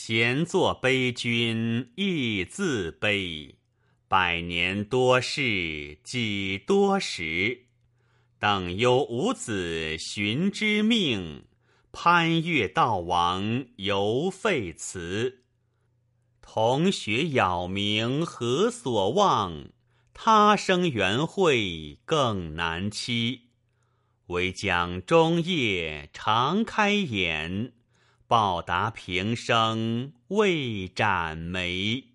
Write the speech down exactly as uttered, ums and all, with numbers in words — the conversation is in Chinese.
闲坐悲君亦自悲，百年多事几多时？等忧五子寻之命，攀越道王犹废辞。同学杳冥何所望？他生缘会更难期。唯将终夜常开眼，报答平生未展眉。